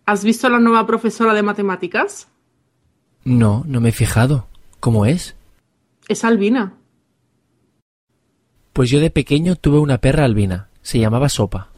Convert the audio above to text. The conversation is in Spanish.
¿Has visto a la nueva profesora de matemáticas? No, no me he fijado. ¿Cómo es? Es albina. Pues yo de pequeño tuve una perra albina. Se llamaba Sopa.